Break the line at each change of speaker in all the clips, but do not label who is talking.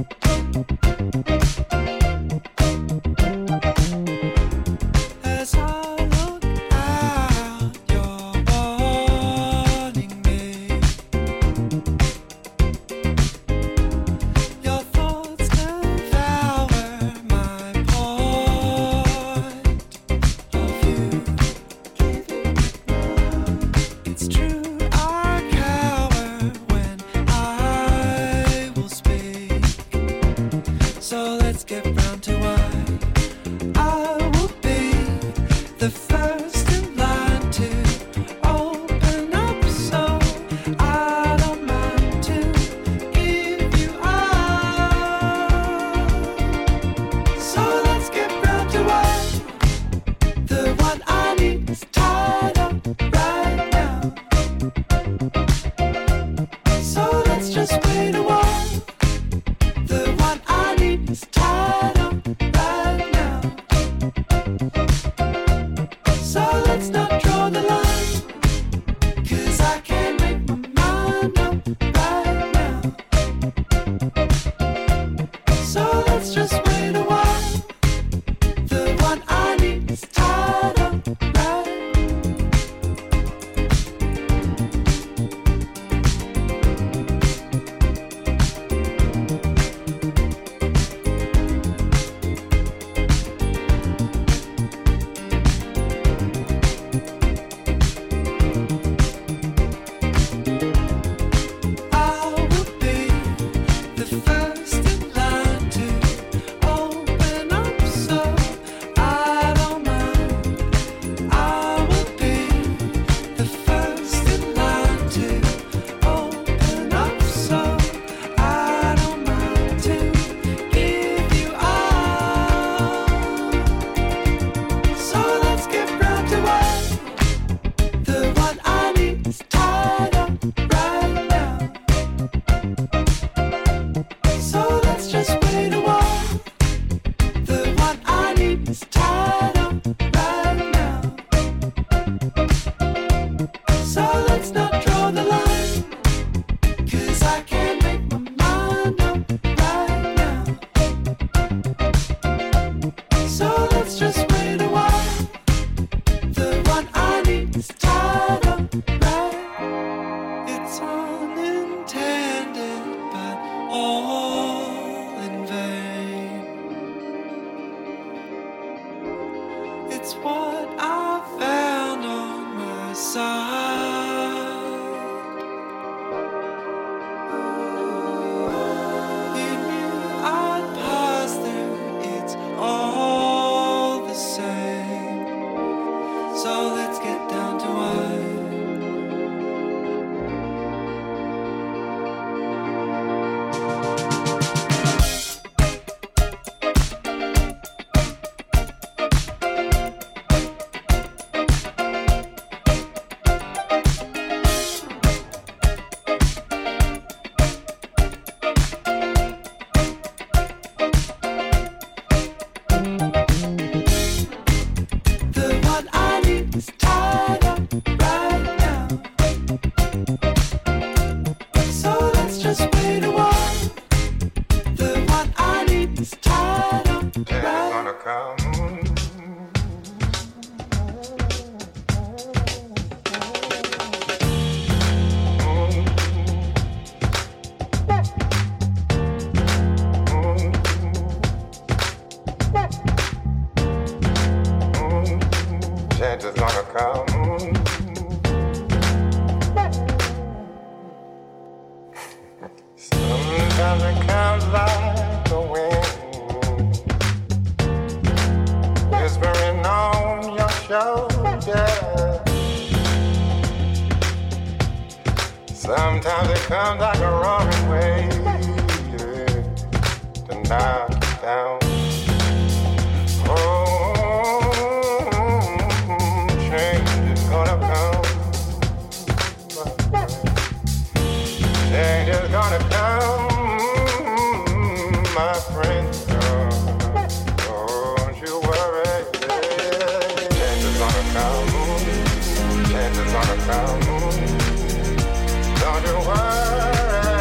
Chances are come. Don't you worry.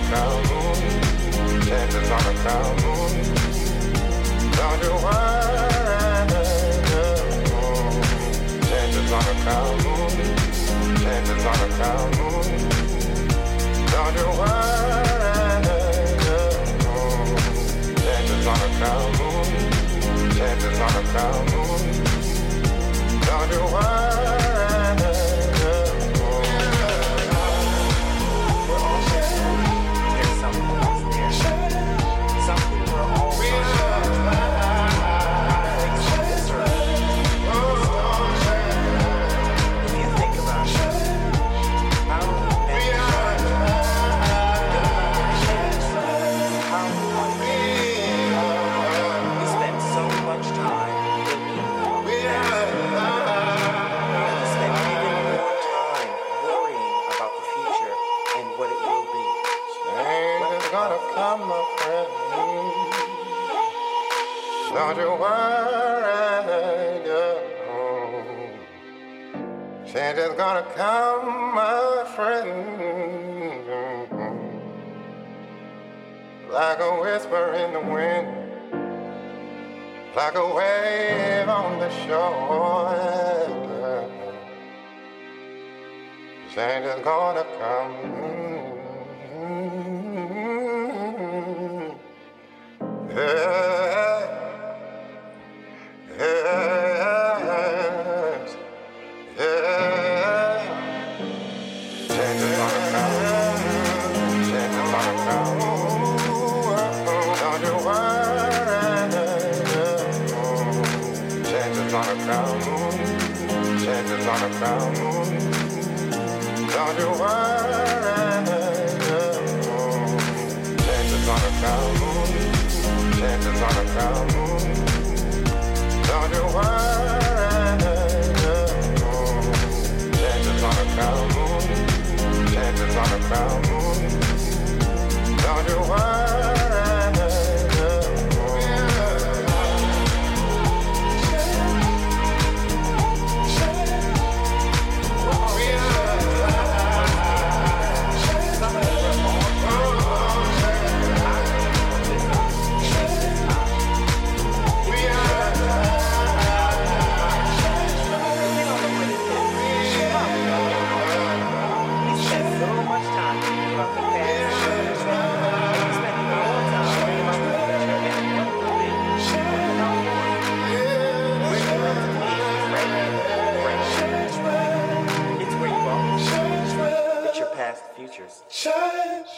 come. Changes gonna come. Don't you worry. Changes gonna come. Changes gonna come. Don't you worry. Changes gonna come. Changes gonna come. Don't you worry. Don't you worry, girl. Change is gonna come, my friend. Like a whisper in the wind, like a wave on the shore. Change is gonna come. Yes, yes, yes. Change is gonna come. Change is gonna come. Don't you worry. Change is gonna come. Change is gonna come. Don't you worry. Change is gonna come. Change is gonna come. Don't you worry. Change is gonna come. Change is gonna come. Don't you worry.
Futures.
Change.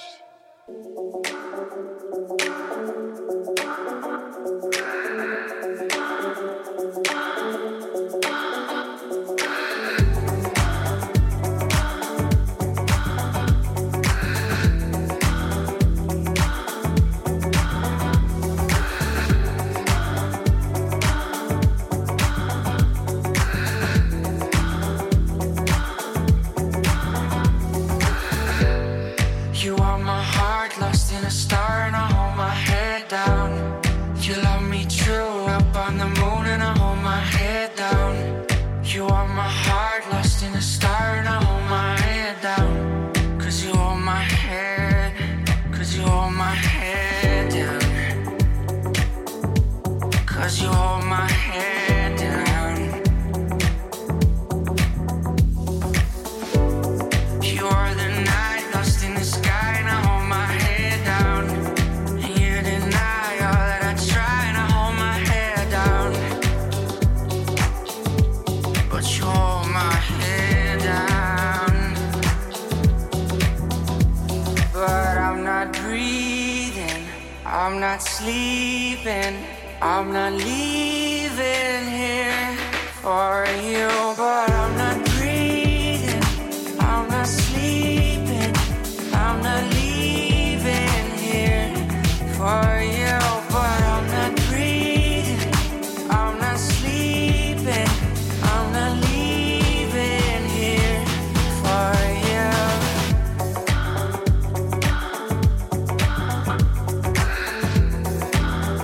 I'm not leaving here for you, but I'm not breathing, I'm not sleeping, I'm not leaving here for you, but I'm not breathing, I'm not sleeping, I'm not leaving here for you.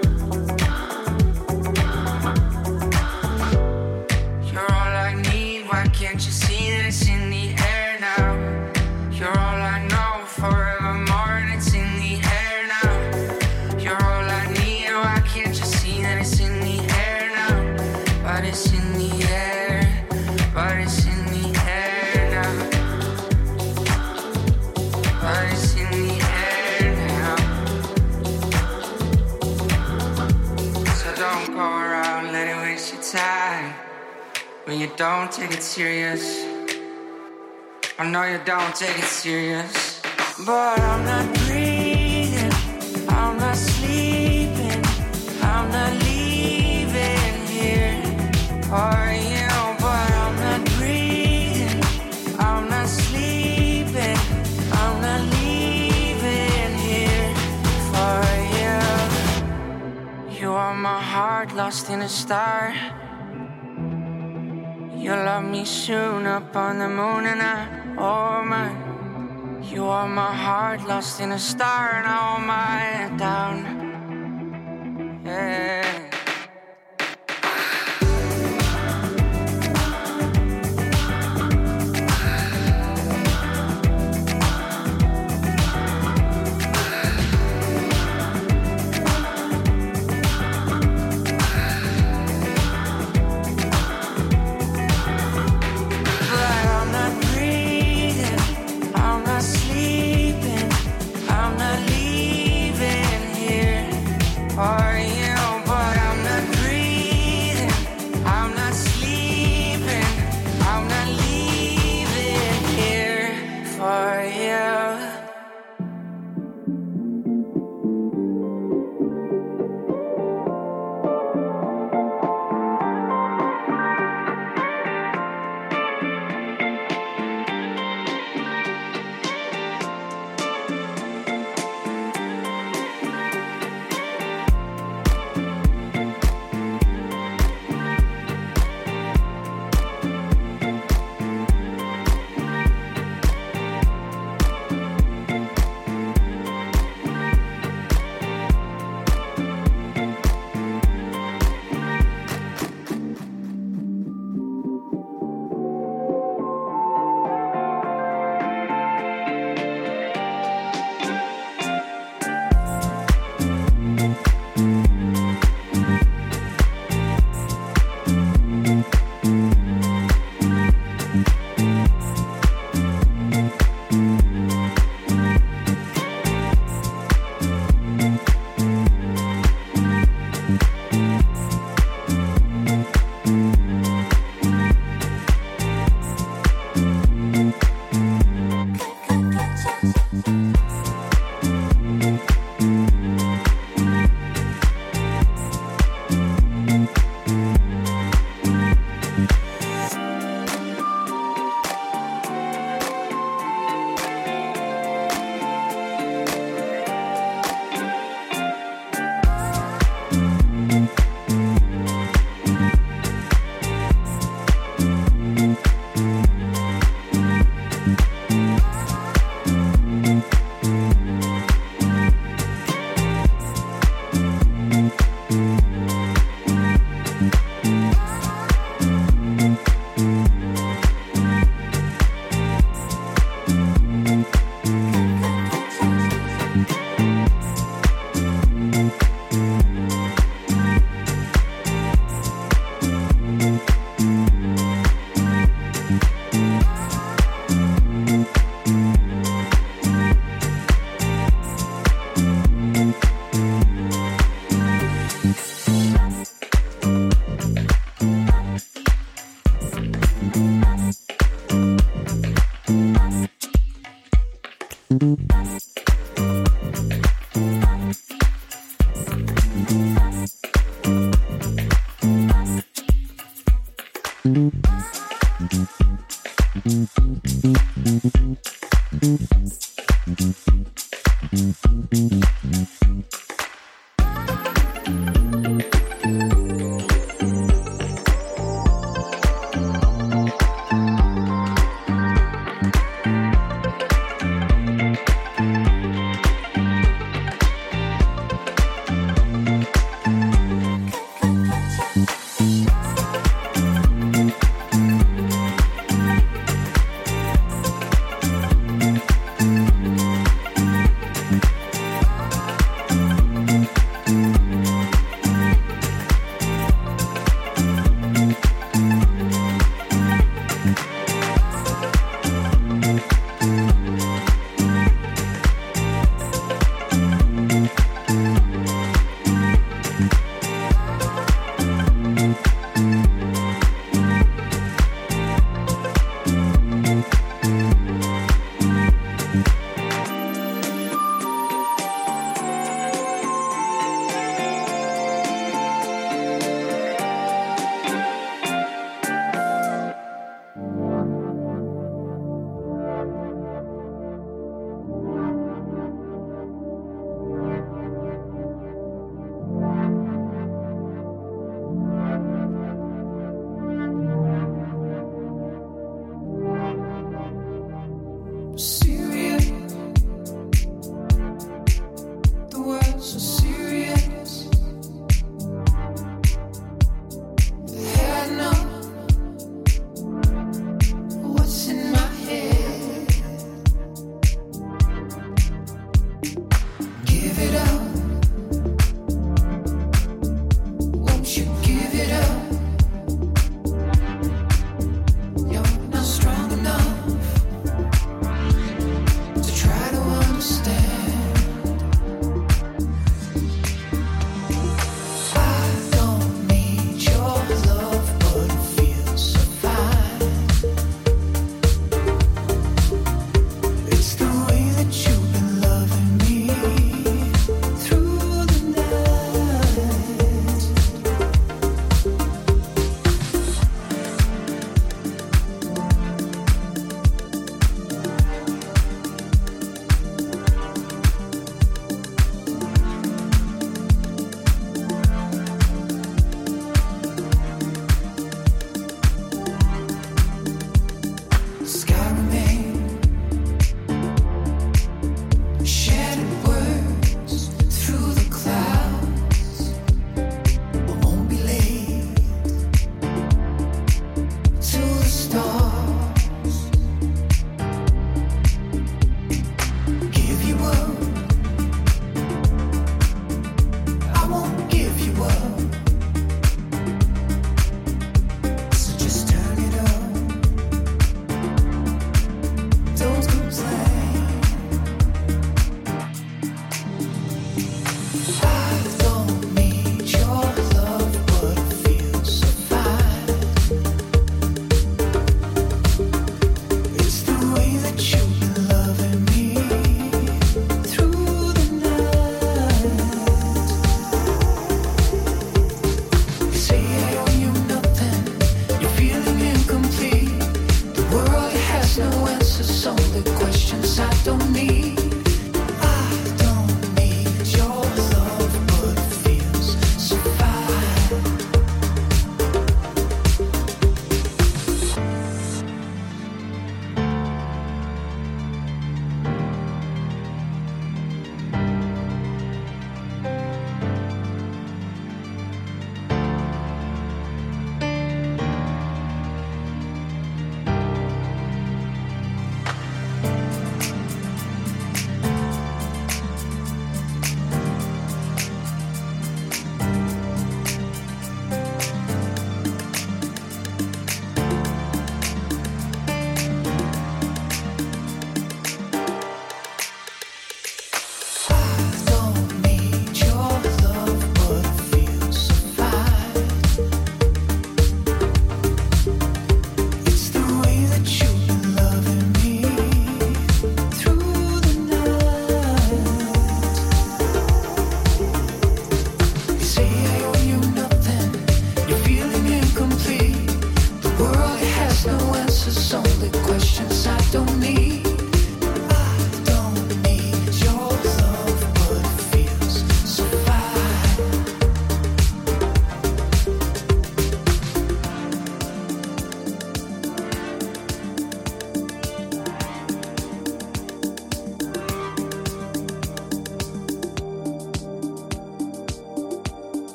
You're all I need Hearts in the air now. So don't go around, let it waste your time. When you don't take it serious. I know you don't take it serious. But I'm not breathing, I'm not sleeping, I'm not leaving here. Are you? But I'm not breathing, I'm not sleeping, I'm not leaving here for you. You are my heart lost in a star. You love me soon up on the moon and oh my. You are my heart lost in a star and all my down. Yeah. Are you? But I'm not breathing, I'm not sleeping, I'm not leaving here for you.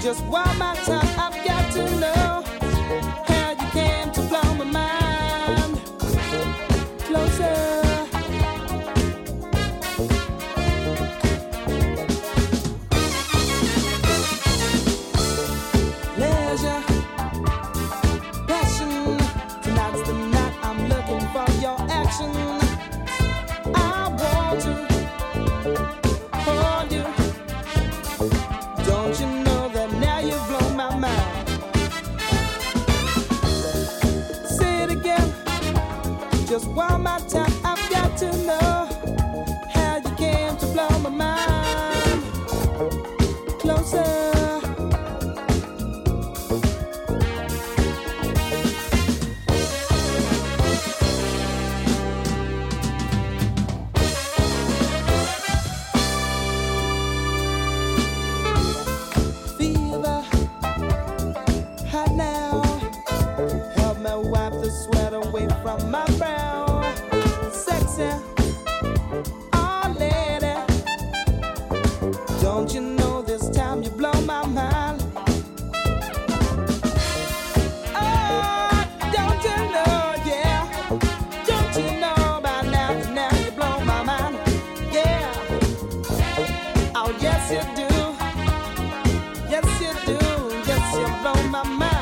Just one more time, I've got to know how you came to blow my mind. Closer. Leisure, passion. Tonight's the night I'm looking for your action. I want to hold you. Don't you know that now you've blown my mind? Say it again, just one more time. I've got to know how you came to blow my mind. Closer. Fever, hot now. Help me wipe the sweat away from my brow. Sexy, oh lady. Don't you know this time you blow my mind? Oh, don't you know, yeah. Don't you know by now that now you blow my mind? Yeah. Oh, yes you do. Yes you do. Yes you blow my mind.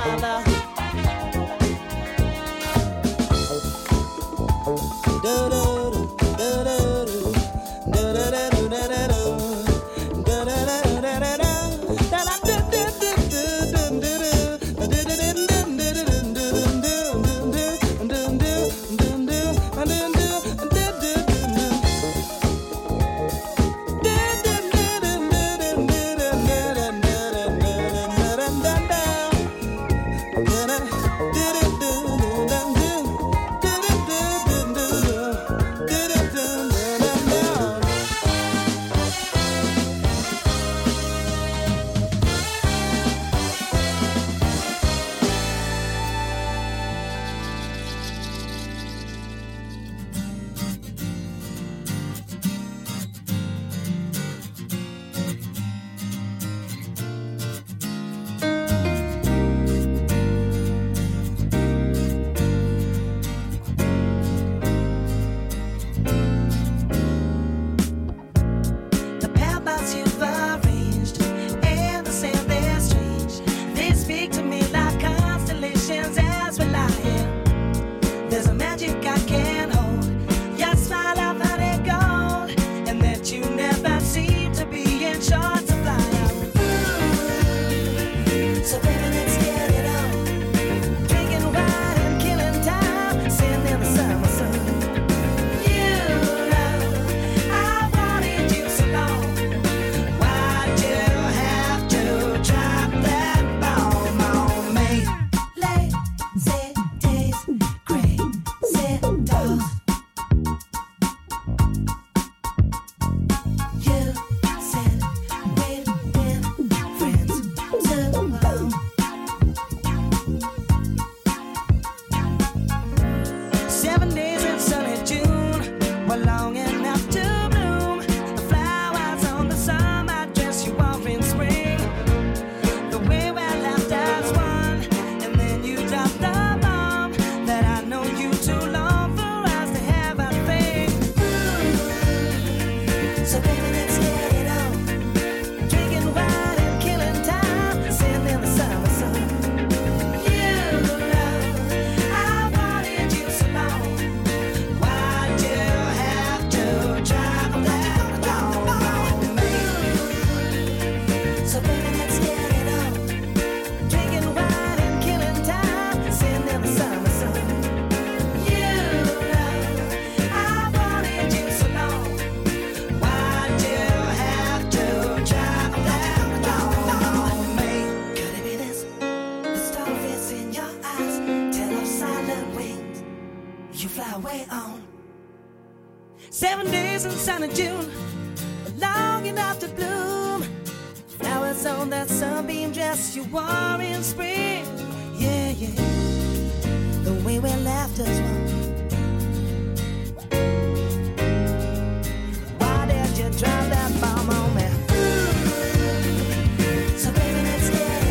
The paths you've arranged and the sand they're strange. They speak to me like constellations as we lie here. There's a magic I can't hold. Your smile I've had it gold, and that you never seem to be in short supply. So baby, let's get it on. Drinking wine and killing time, sitting in the summer sun. You know I wanted you so long. Why'd you have to drop that bomb on me? Lazy days, crazy dogs. You said we'd been friends too long. 7 days in sunny June were long enough to bloom. The flowers on the summer dress you wore in spring. The way we laughed as one, and then you dropped the bomb that I know you too long for us to have a thing. So baby, let's get it on. Drinking wine and killing time, sitting in the summer sun. You know I wanted you so long. Why'd you have to drop that bomb on me? So baby, let's get it on. Drinking wine and killing time, sitting in the summer sun. You know I wanted you so long. Why'd you have to drop that bomb on me? Could it be this? The starfish in your eyes tell of silent wings. You fly away on 7 days in sunny June, long enough to bloom. Flowers on that sunbeam dress you wore in spring. Yeah, yeah. The way we laughed as one. Why did you drop that bomb on me? So baby, let's get it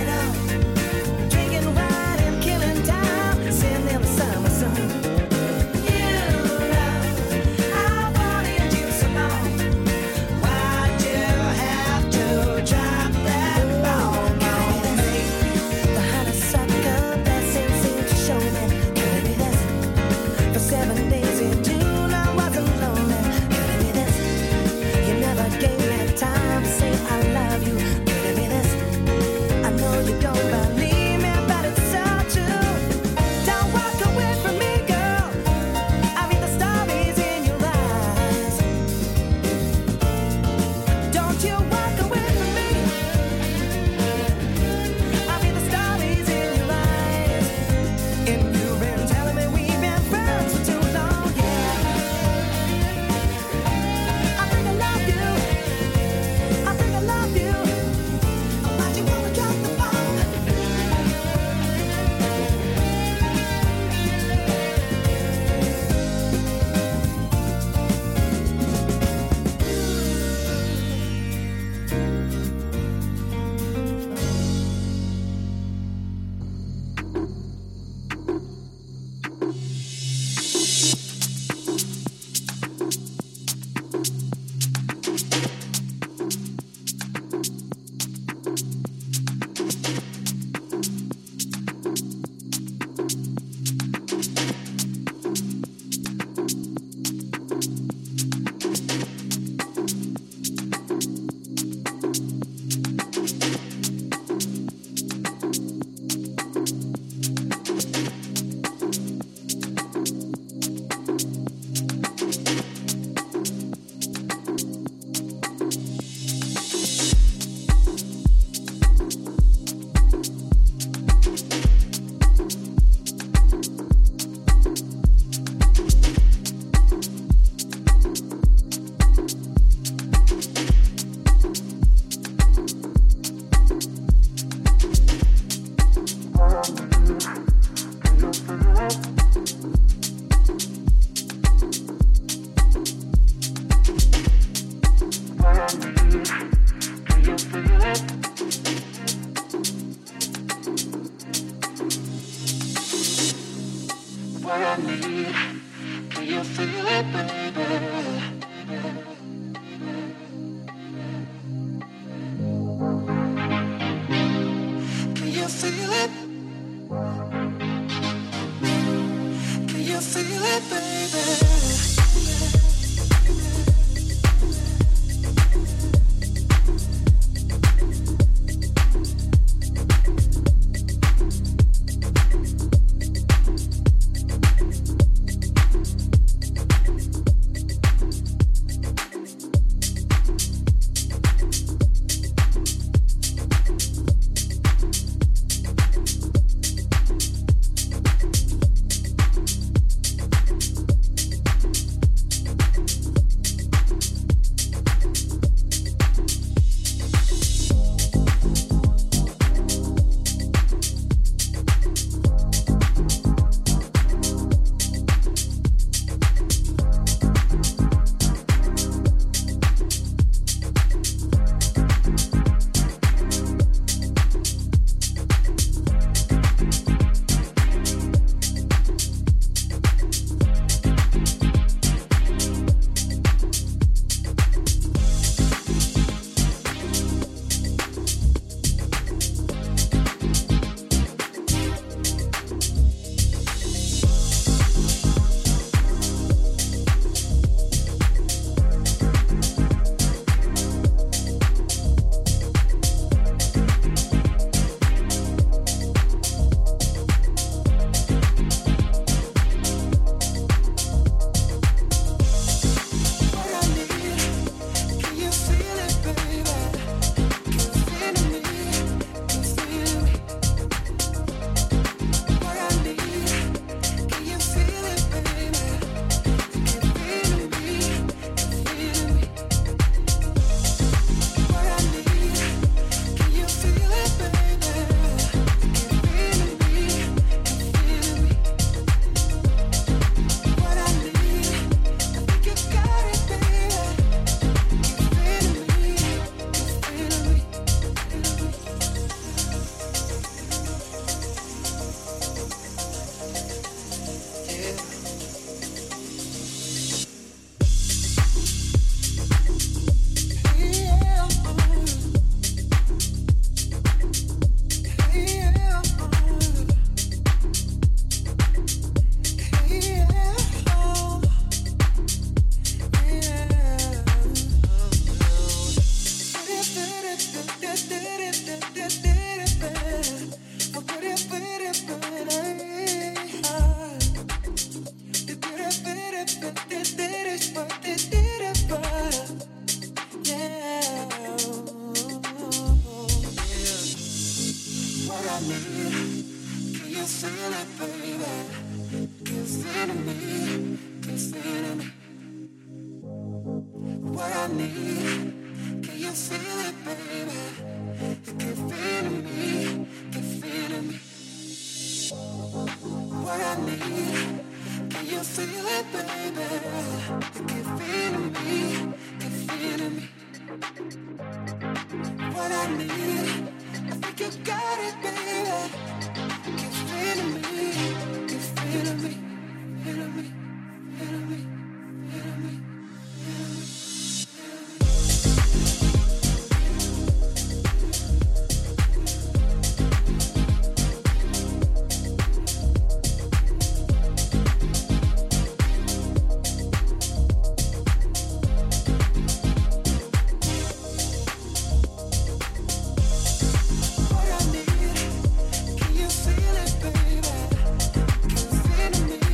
Can you feel it, baby? Can you feel me?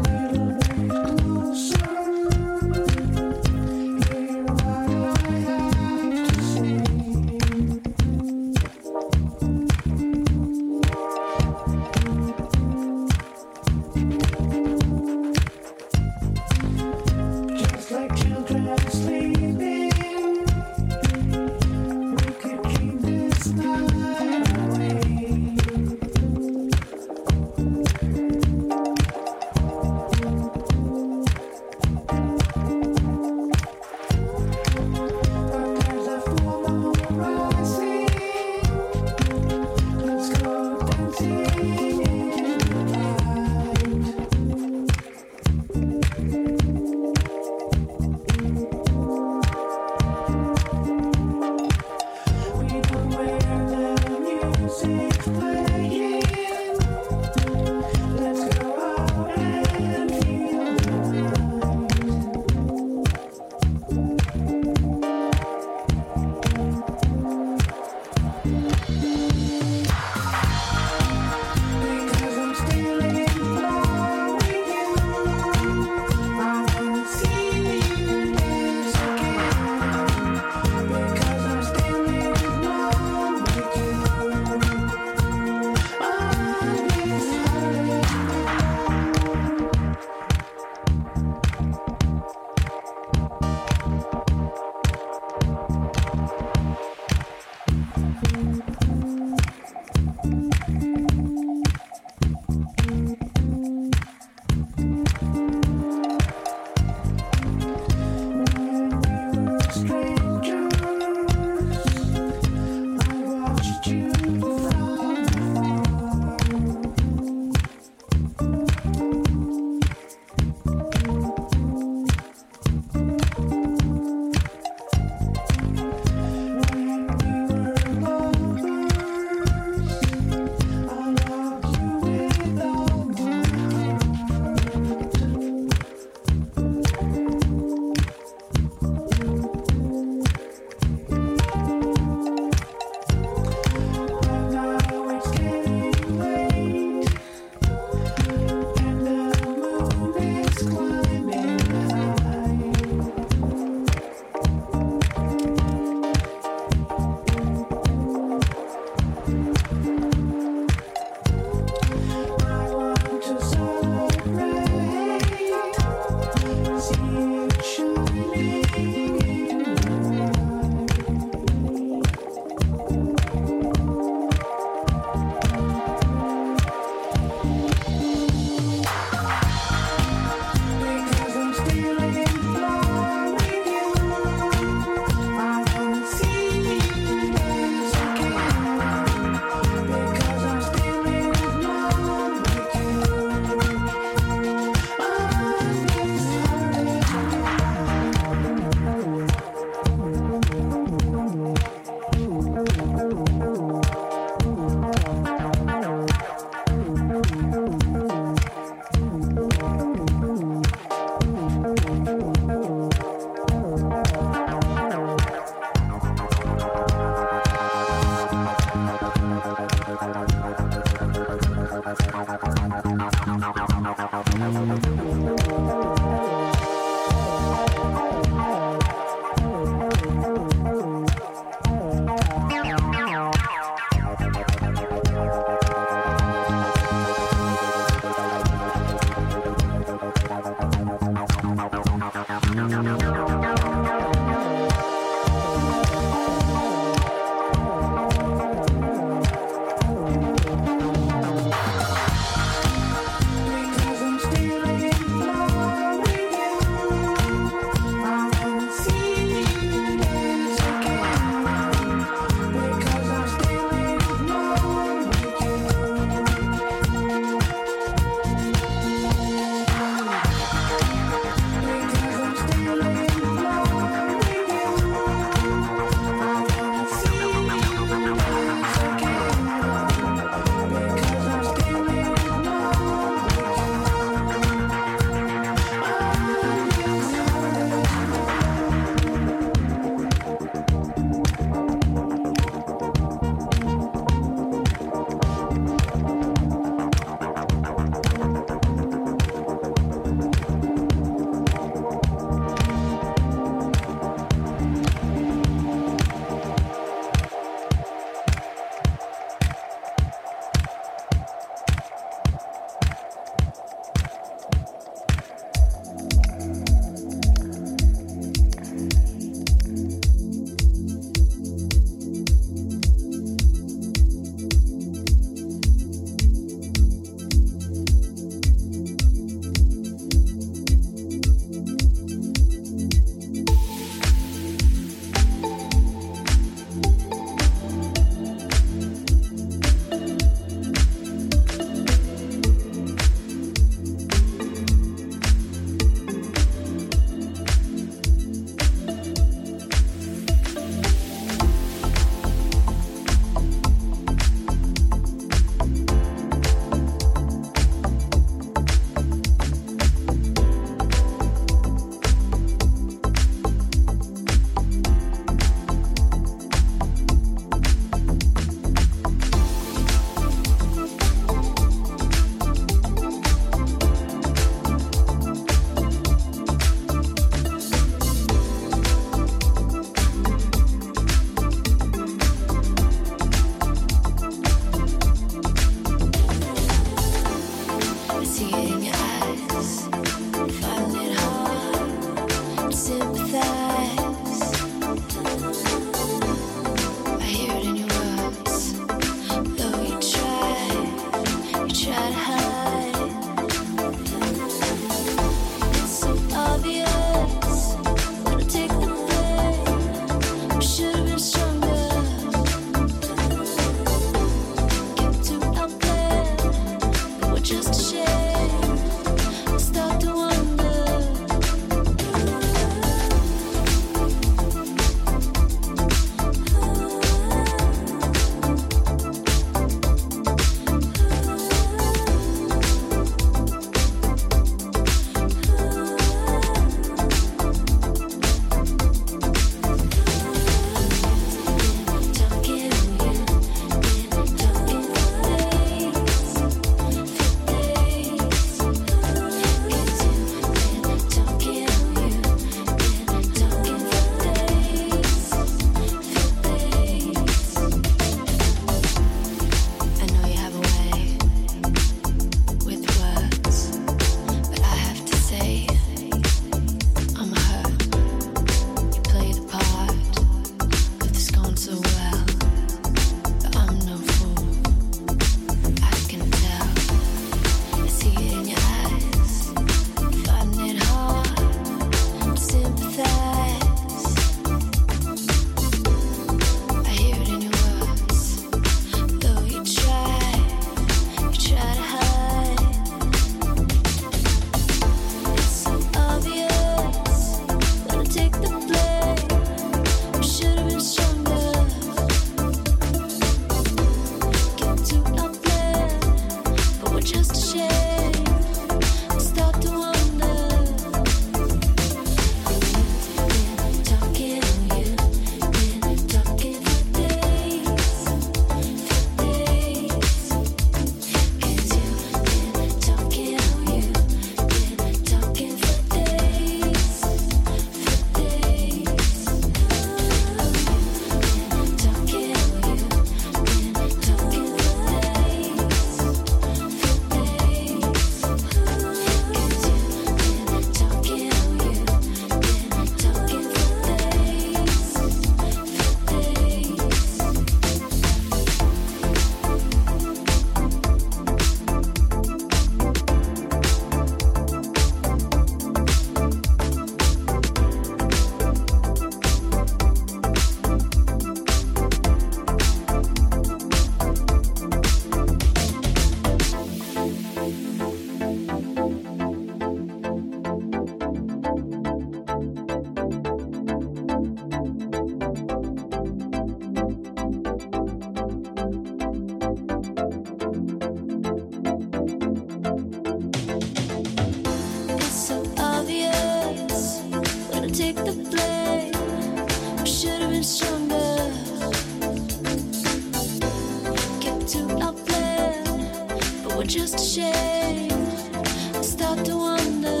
just a shame. I start to wonder.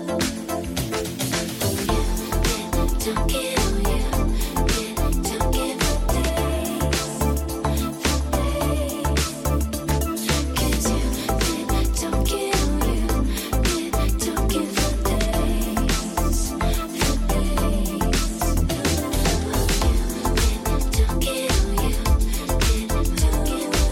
Don't kill you. Don't give a days. Cause you don't kill you. Don't give a days. Don't kill you. Don't give a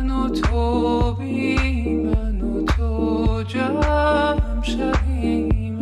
من و تو جمع شویم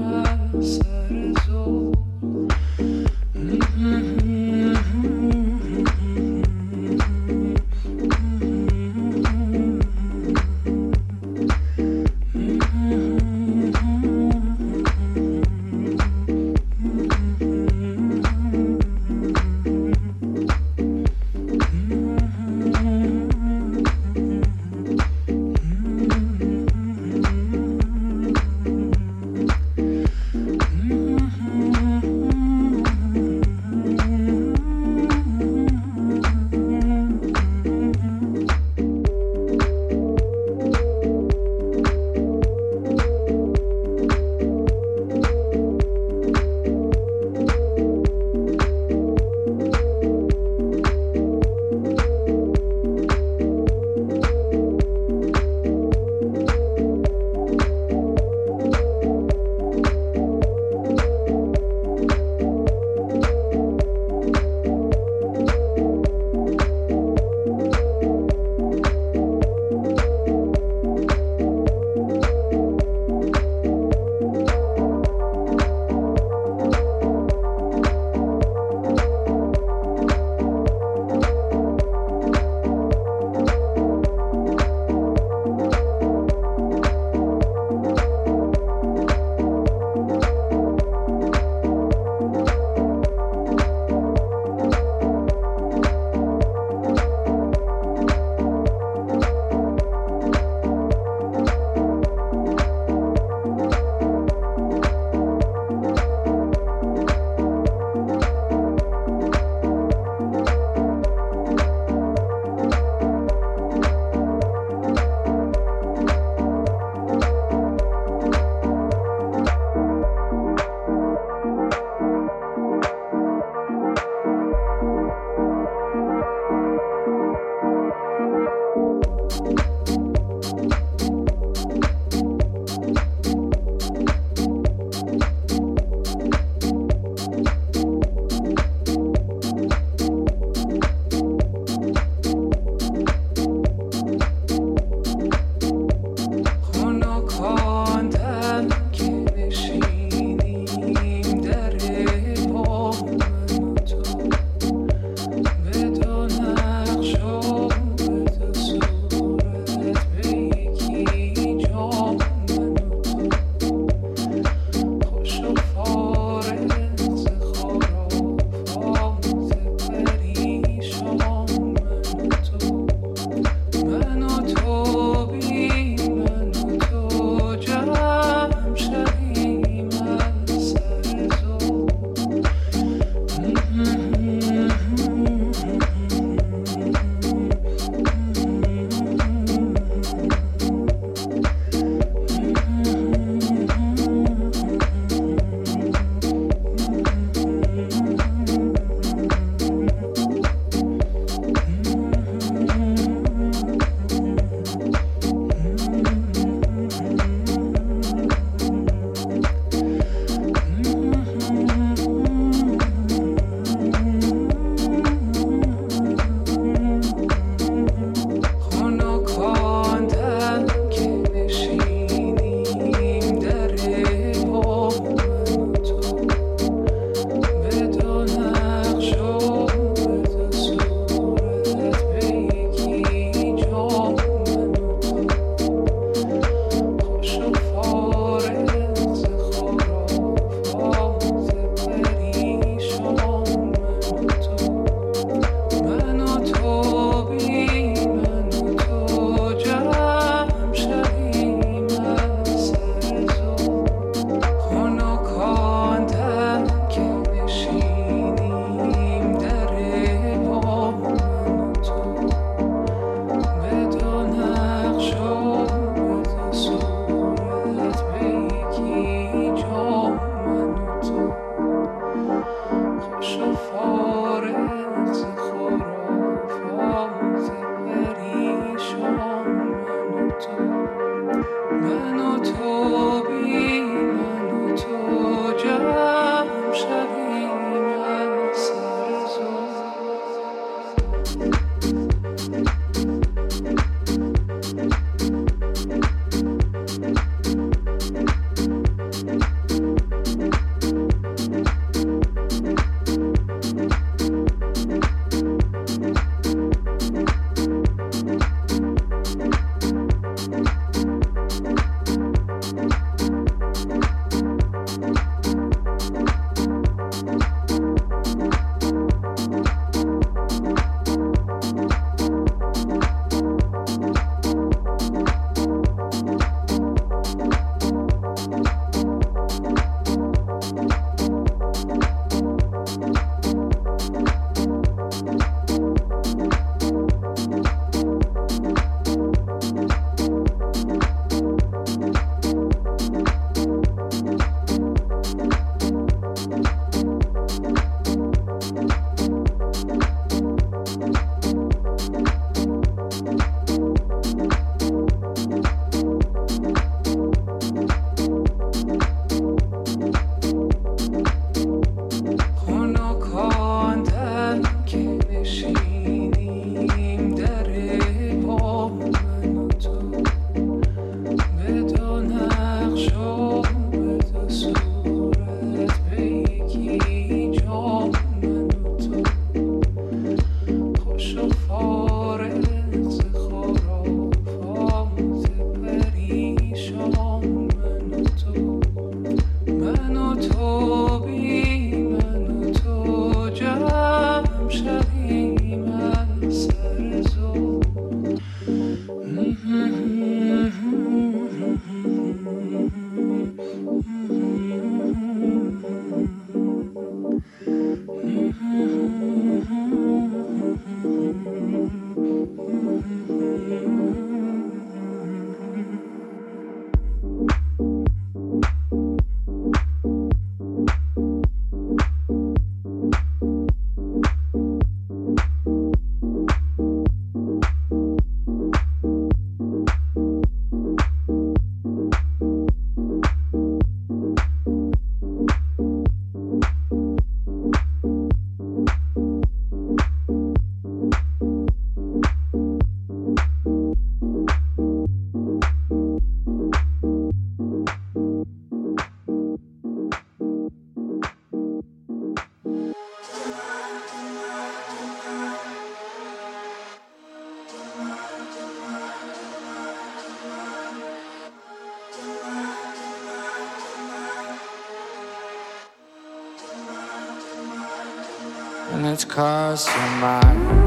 it's 'cause you're mine.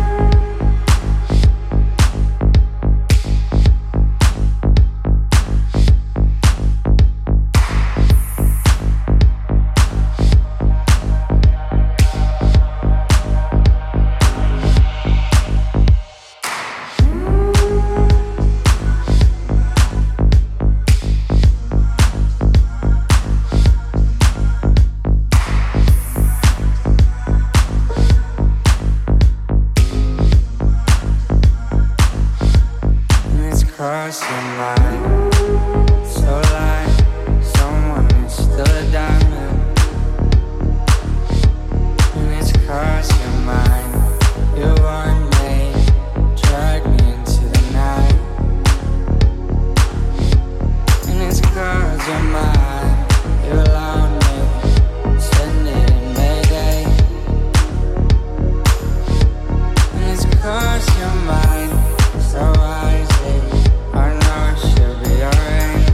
Cross your mind, so like someone is still a diamond. And it's cross your mind, you want me, drag me into the night. And it's cross your mind, you allowed me, send it in Mayday. And it's cross your mind, so wisely, I know it should be alright.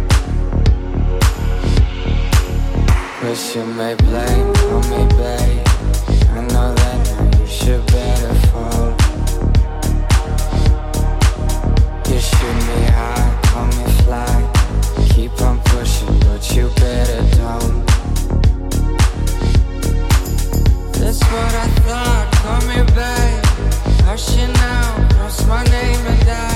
Wish you may blame on me, babe. I know that now you should better fall. You shoot me high, call me fly. Keep on pushing, but you better don't. That's what I thought, call me babe. Hushing out, cross my name and die.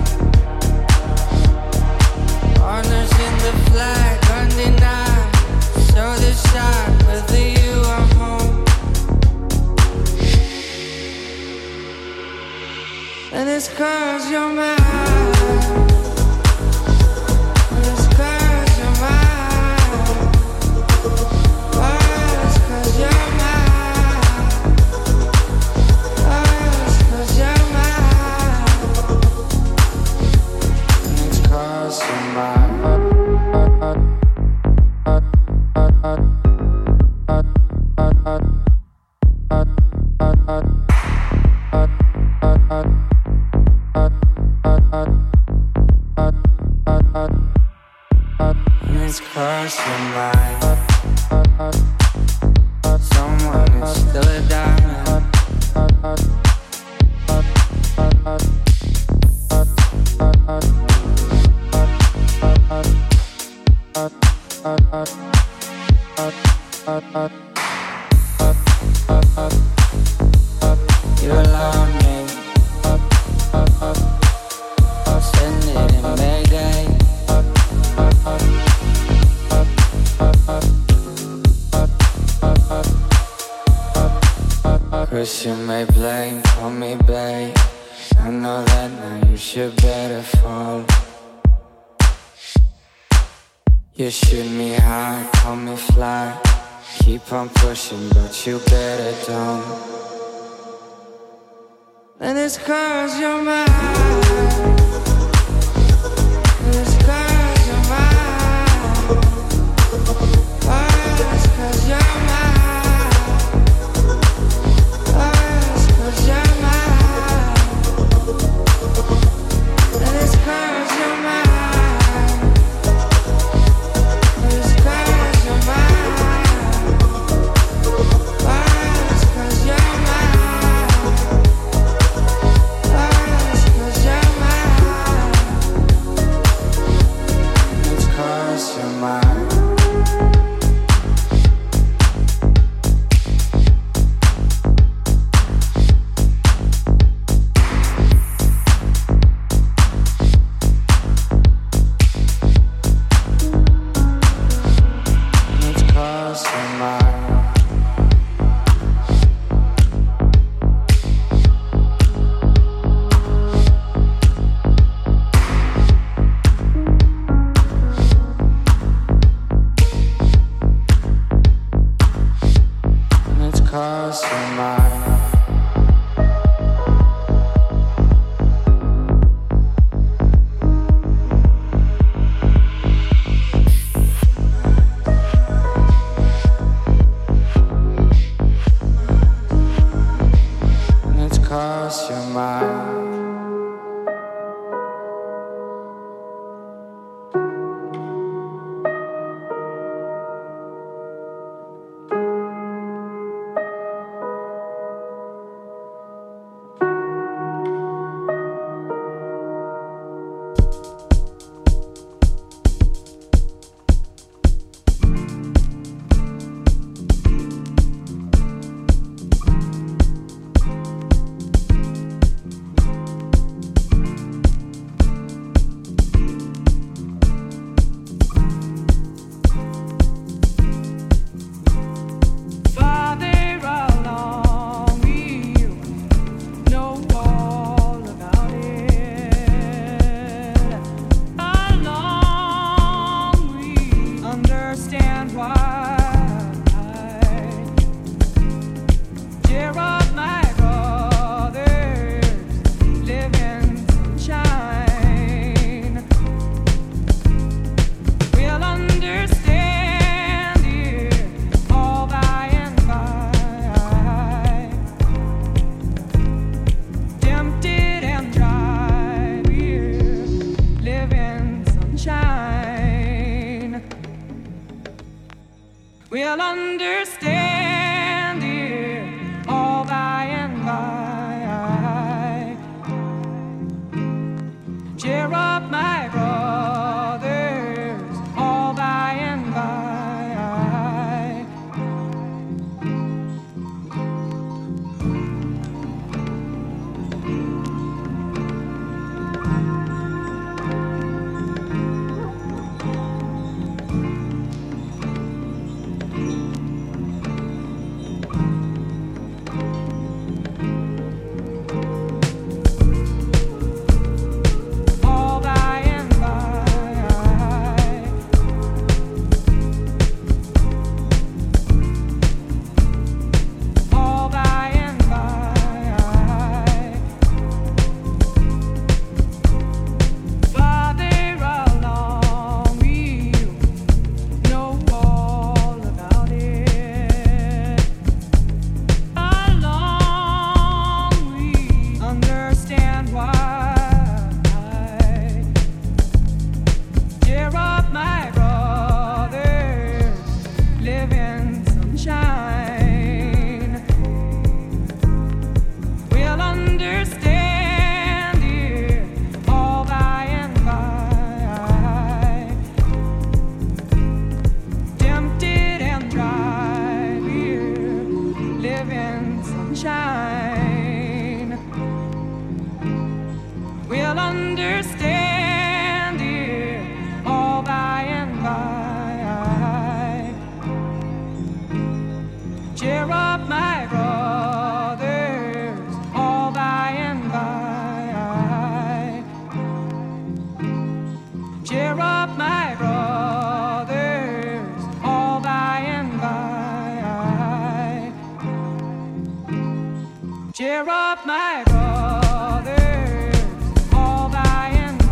Honors in the flag, undenied. So decide whether you are home. And it's 'cause you're mine. And it's 'cause you're mine. Oh, it's 'cause you're mine. Oh, it's 'cause you're mine. And it's 'cause you're mine. And it's 'cause you're mine. Someone is still a diamond. You allowed me, send it in Mayday. 'Cause you may blame on me, babe. I know that now you should better fall. You shoot me high, call me fly. Keep on pushing, but you better don't. And it's 'cause you're mine. And it's 'cause you're mine. Oh, it's 'cause you're mine. Oh, it's 'cause you're mine. And it's 'cause you're mine. And it's 'cause you're mine. Oh, it's 'cause you're mine. Oh, it's 'cause you're mine. We'll understand it all by and by. Cheer up, my brothers, all by and by. We'll understand it all by and by. Cheer up, my brothers, all by and by. Cheer up, my brothers, all by and by. Cheer up, my brothers, all by and by.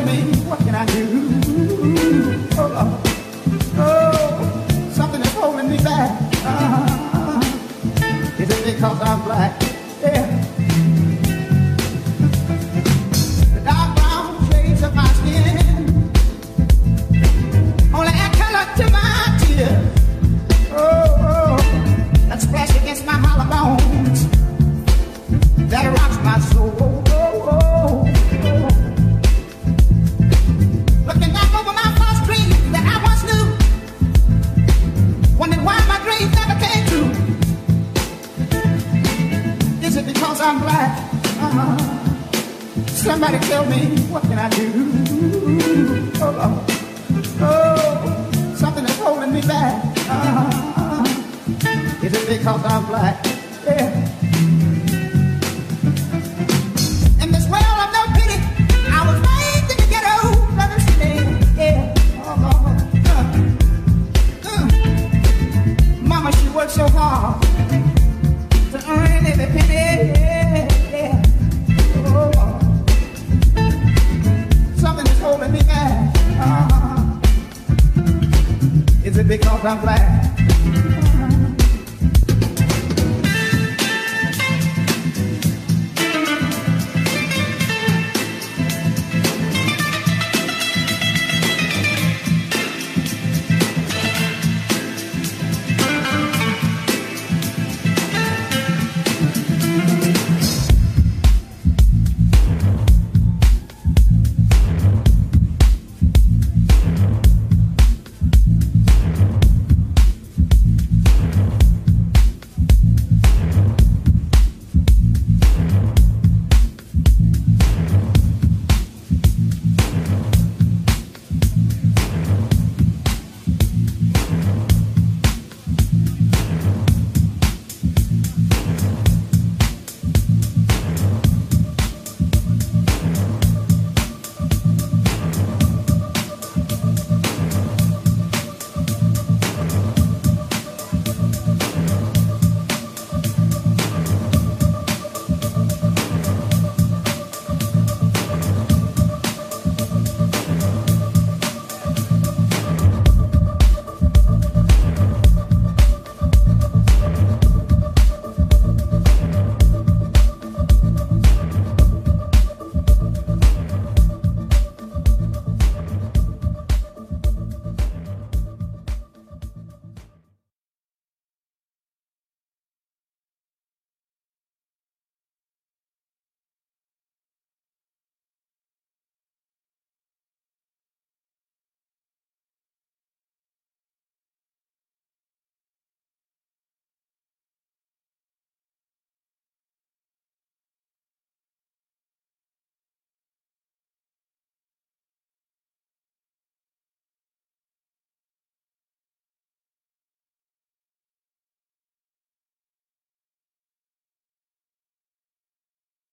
tell me, what can I do? Oh, Lord. Oh, something is holding me back. Is it because I'm black? Yeah. The dark brown shades of my skin only add color to my tears. Oh, that splash against my hollow bones that rocks my soul. Looking back over my first dream that I once knew, wondering why my dreams never came true. Is it because I'm black? Somebody tell me, what can I do? Oh, Lord. Oh, something is holding me back. Is it because I'm black? Yeah. In this world of no pity, I was raised in the ghetto, understand? Yeah. Oh, Lord. Mama, she worked so hard to earn every penny. Yeah. Oh, Lord. Something is holding me back. Is it because I'm black?